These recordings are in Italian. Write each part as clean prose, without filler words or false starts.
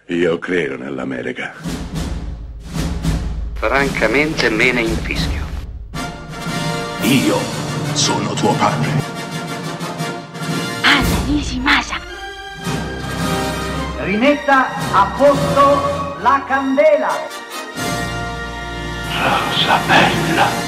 Io credo nell'America. Francamente me ne infischio. Io sono tuo padre. Anna Nishimasa. Rimetta a posto la candela. Rosa bella.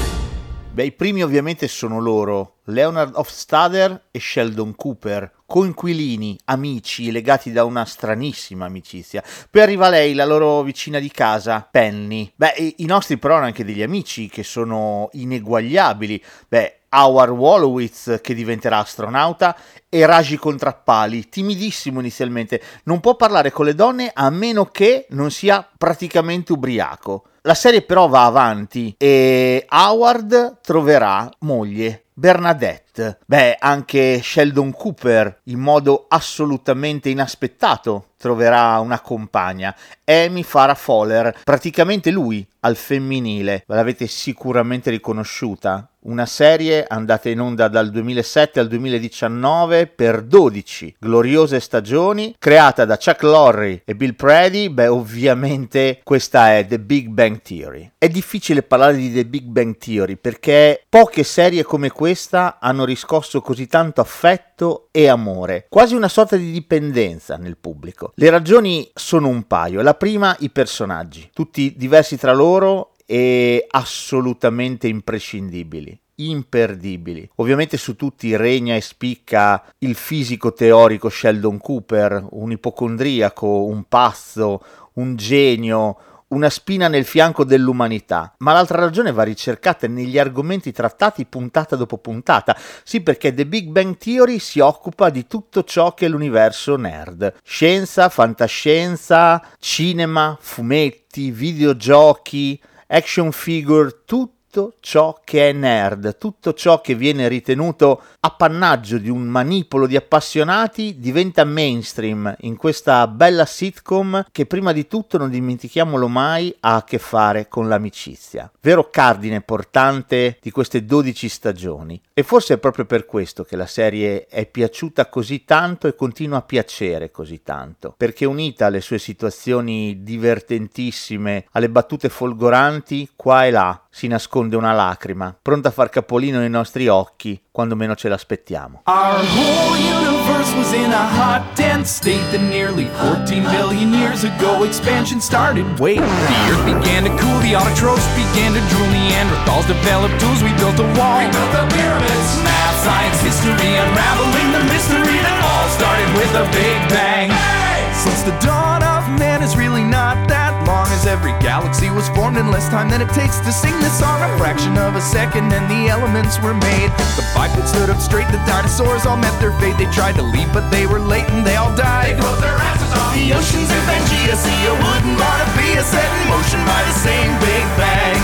Beh, i primi ovviamente sono loro, Leonard Hofstadter e Sheldon Cooper, coinquilini, amici, legati da una stranissima amicizia. Poi arriva lei, la loro vicina di casa, Penny. Beh, i nostri però hanno anche degli amici che sono ineguagliabili. Beh, Howard Wolowitz, che diventerà astronauta, e Raji Contrappali, timidissimo inizialmente, non può parlare con le donne a meno che non sia praticamente ubriaco. La serie però va avanti e Howard troverà moglie, Bernadette. Beh, anche Sheldon Cooper, in modo assolutamente inaspettato, troverà una compagna, Amy Farrah Fowler, praticamente lui al femminile. L'avete sicuramente riconosciuta. Una serie andata in onda dal 2007 al 2019 per 12 gloriose stagioni, creata da Chuck Lorre e Bill Prady. Beh, ovviamente questa è The Big Bang Theory. È difficile parlare di The Big Bang Theory perché poche serie come questa hanno riscosso così tanto affetto e amore, quasi una sorta di dipendenza nel pubblico. Le ragioni sono un paio. La prima, i personaggi, tutti diversi tra loro e assolutamente imprescindibili, imperdibili. Ovviamente su tutti regna e spicca il fisico teorico Sheldon Cooper, un ipocondriaco, un pazzo, un genio, una spina nel fianco dell'umanità. Ma l'altra ragione va ricercata negli argomenti trattati puntata dopo puntata. Sì, perché The Big Bang Theory si occupa di tutto ciò che è l'universo nerd. Scienza, fantascienza, cinema, fumetti, videogiochi, action figure, tutto ciò che è nerd, tutto ciò che viene ritenuto appannaggio di un manipolo di appassionati diventa mainstream in questa bella sitcom che prima di tutto, non dimentichiamolo mai, ha a che fare con l'amicizia, vero cardine portante di queste 12 stagioni. E forse è proprio per questo che la serie è piaciuta così tanto e continua a piacere così tanto, perché unita alle sue situazioni divertentissime, alle battute folgoranti, qua e là si nasconde una lacrima, pronta a far capolino nei nostri occhi quando meno ce l'aspettiamo. Our whole universe was in a hot, dense state that nearly 14 billion years ago expansion started. Wait, the earth began to cool, the autotrophs began to drool, Neanderthals developed tools, we built a wall. We built the pyramids. Math, science, history, unraveling the mystery that all started with a big bang. Hey! Since the dawn of man is really not that long, as every galaxy was formed in less time than it takes to sing this song. A fraction of a second and the elements were made. The bipeds stood up straight, the dinosaurs all met their fate. They tried to leave but they were late and they all died. They closed their asses off. The oceans in Pangea Sea wouldn't wanna be a set in motion by the same Big Bang.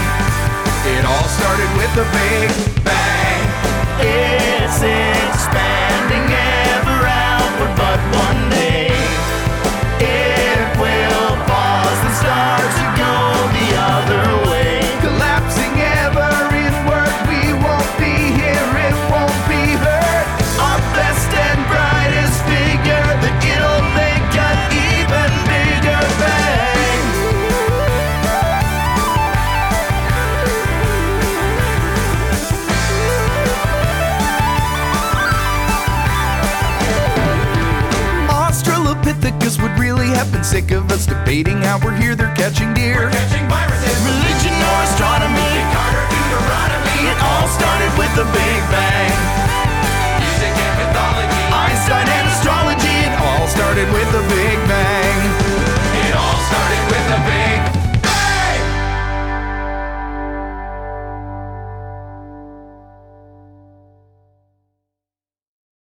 It all started with a Big Bang. It's expanding ever outward, but one day it will pause and start to go the other way. Collapsing ever inward, we won't be here, it won't be heard. Our best and brightest figure, that it'll make an even bigger bang. Australopithecus would really have been sick of us debating how we're here, they're catching deer. We're catching viruses. Religion or astronomy. Carter